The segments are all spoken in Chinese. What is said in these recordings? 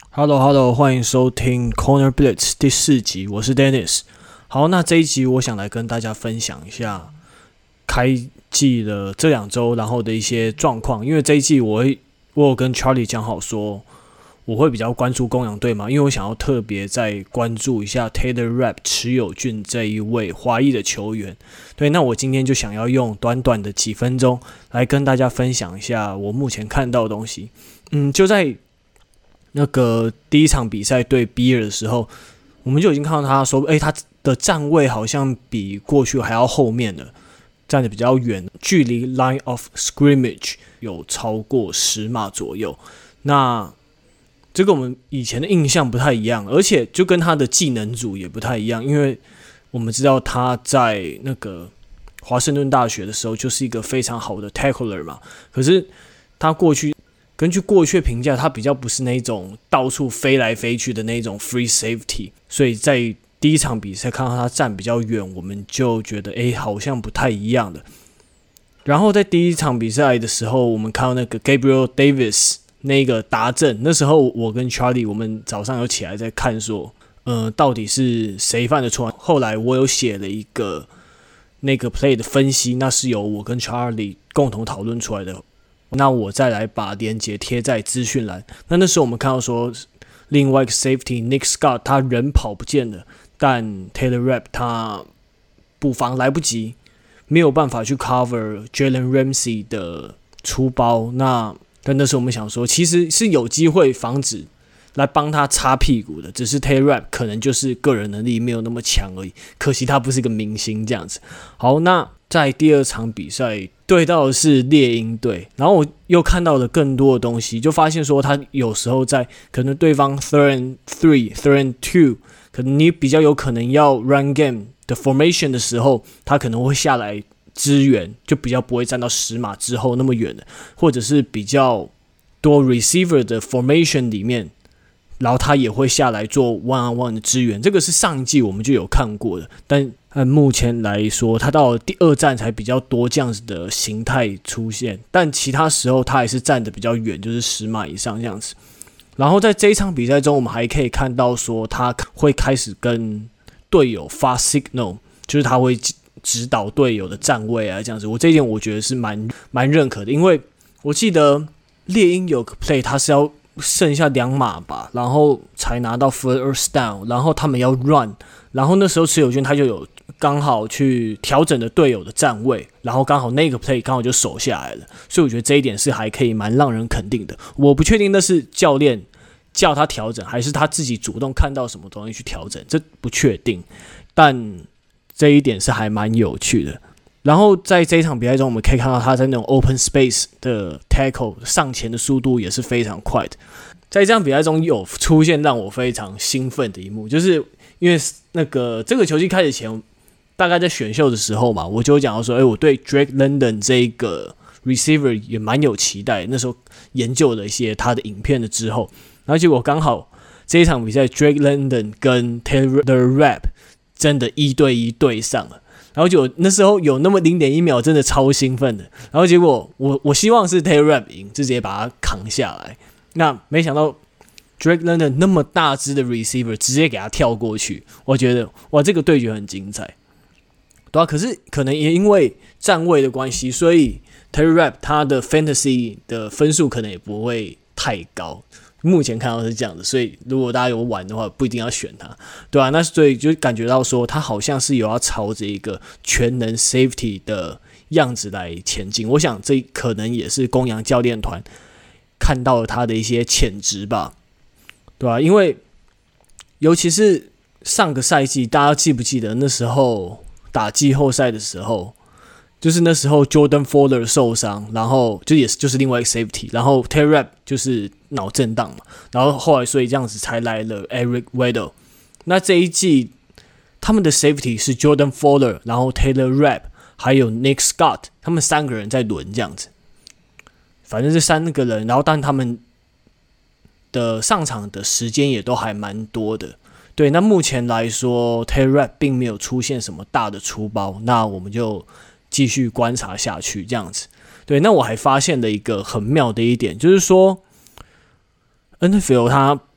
Hello， 歡迎收聽 Corner Blitz 第4集，我是 Dennis。好，那這一集我想來跟大家分享一下開季的這2週，然後的一些狀況。因為這一季我有跟 Charlie 講好說，我會比較關注公羊隊嘛，因為我想要特別再關注一下 Taylor Rapp 池友俊這一位華裔的球員。對，那我今天就想要用短短的幾分鐘來跟大家分享一下我目前看到的東西。就在那個第一場比賽對比爾的時候，我們就已經看到他說，他的站位好像比過去還要後面了，站得比較遠，距離 line of scrimmage 有超過10碼左右。那這個我們以前的印象不太一樣，而且就跟他的技能組也不太一樣，因為我們知道他在那個華盛頓大學的時候就是一個非常好的 tackler 嘛，可是他根據過去的評價，他比較不是那種到處飛來飛去的那種 free safety， 所以在第一場比賽看到他站比較遠，我們就覺得好像不太一樣的。然後在第一場比賽的時候，我們看到那個 Gabriel Davis 那個達陣，那時候我跟 Charlie 我們早上有起來在看說，到底是誰犯的錯？後來我有寫了一個那個 play 的分析，那是由我跟 Charlie 共同討論出來的。那我再來把連結貼在資訊欄。那時候我們看到說，另外一個 safety Nick Scott 他人跑不見了，但 Taylor Rapp 他補防來不及，沒有辦法去 cover Jalen Ramsey 的出包。但那時候我們想說，其實是有機會防止來幫他擦屁股的，只是 Taylor Rapp 可能就是個人能力沒有那麼強而已。可惜他不是一個明星這樣子。好，那在第二場比賽對到的是獵鷹隊，然後我又看到了更多的東西，就發現說他有時候在可能對方 third and 3、third and 2，可能你比較有可能要 run game 的 formation 的時候，他可能會下來支援，就比較不會站到10碼之後那麼遠的，或者是比較多 receiver 的 formation 裡面，然後他也會下來做 one on one 的支援，這個是上一季我們就有看過的，但按目前來說，他到了第2站才比較多這樣子的形態出現，但其他時候他還是站得比較遠，就是10碼以上這樣子。然後在這一場比賽中，我們還可以看到說他會開始跟隊友發 signal， 就是他會指導隊友的站位啊這樣子。這一點我覺得是蠻認可的，因為我記得獵鷹有個 play， 他是要剩下2碼吧，然後才拿到 first down， 然後他們要 run， 然後那時候池友俊他就有剛好去調整的隊友的站位，然後剛好那個 play 剛好就守下來了，所以我覺得這一點是還可以蠻讓人肯定的。我不確定那是教練叫他調整，還是他自己主動看到什麼東西去調整，這不確定，但這一點是還蠻有趣的。然後在這一場比賽中，我們可以看到他在那種 open space 的 tackle 上前的速度也是非常快的。在這場比賽中有出現讓我非常興奮的一幕，就是因為這個球季開始前，大概在選秀的時候嘛，我就講到說，我對 Drake London 這個 receiver 也蠻有期待。那時候研究了一些他的影片了之後，然後結果剛好這一場比賽 Drake London 跟 Taylor Rapp 真的1對1對上了。然後就那時候有那麼0.1秒，真的超興奮的。然後結果我希望是 Taylor Rapp 贏，就直接把他扛下來。那沒想到 Drake London 那麼大只的 receiver 直接給他跳過去，我覺得哇，這個對決很精彩。對啊，可是可能也因為站位的關係，所以 Taylor Rapp 他的 fantasy 的分數可能也不會太高。目前看到是這樣的，所以如果大家有玩的話，不一定要選他，對啊，那所以就感覺到說，他好像是有要朝着一個全能 safety 的樣子來前進。我想這可能也是公羊教練團看到了他的一些潛質吧，對啊，因為尤其是上個賽季，大家記不記得那時候打季後賽的時候？就是那時候 Jordan Fuller 受傷，然後就是另外一個 safety， 然後 Taylor Rapp 就是腦震盪嘛，然後後來所以這樣子才來了 Eric Weddle。那這一季他們的 safety 是 Jordan Fuller， 然後 Taylor Rapp 還有 Nick Scott， 他們3個人在輪這樣子。反正這3個人，然後但他們的上場的時間也都還蠻多的。對，那目前來說 Taylor Rapp 並沒有出現什麼大的出包，那我們就繼續觀察下去，這樣子。對，那我還發現了一個很妙的一點，就是說 NFL 它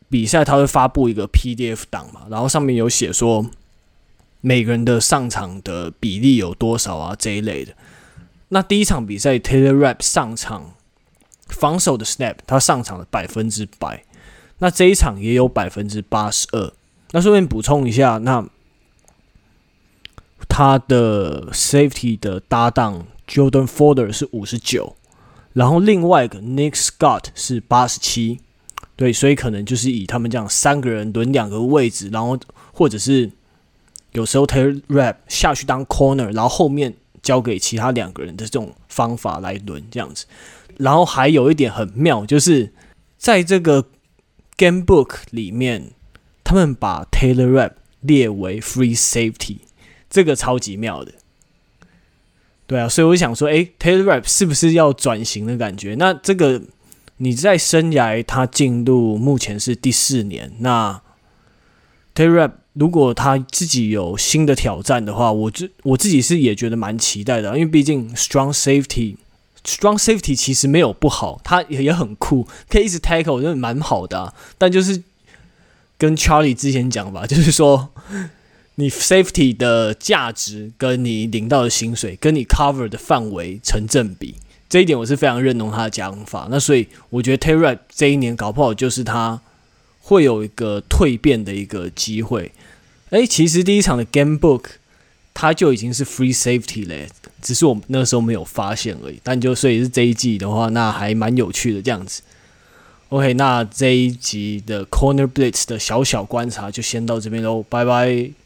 比賽他會發布一個 PDF 檔嘛，然後上面有寫說每個人的上場的比例有多少啊這一類的。那第一場比賽 Taylor Rapp 上場防守的 snap 他上場了100%，那這一場也有82%。那順便補充一下，那他的 safety 的搭檔 Jordan Fuller 是59%，然後另外一個 Nick Scott 是87%。對，所以可能就是以他們這樣3個人輪2個位置，然後或者是有時候 Taylor Rapp 下去當 corner， 然後後面交給其他2個人的這種方法來輪這樣子。然後還有一點很妙，就是在這個 Game Book 裡面，他們把 Taylor Rapp 列為 Free Safety， 這個超級妙的。對啊，所以我想說，Taylor Rapp 是不是要轉型的感覺？那這個你在生涯他進入目前是第4年，那 Taylor Rapp 如果他自己有新的挑戰的話，我自己是也覺得蠻期待的，因為畢竟 Strong Safety 其實沒有不好，他也很酷，可以一直 tackle， 我覺得蠻好的啊。但就是跟 Charlie 之前講吧，就是說你 safety 的價值跟你領到的薪水跟你 cover 的範圍成正比，這一點我是非常認同他的講法。那所以我覺得 Taylor Rapp 這一年搞不好就是他會有一個蛻變的一個機會。其實第一場的 Game Book 他就已經是 Free Safety 了，只是我那時候沒有發現而已。但就所以是這一季的話，那還蠻有趣的這樣子。OK， 那這一集的 Corner Blitz 的小觀察就先到這邊嘍，拜拜。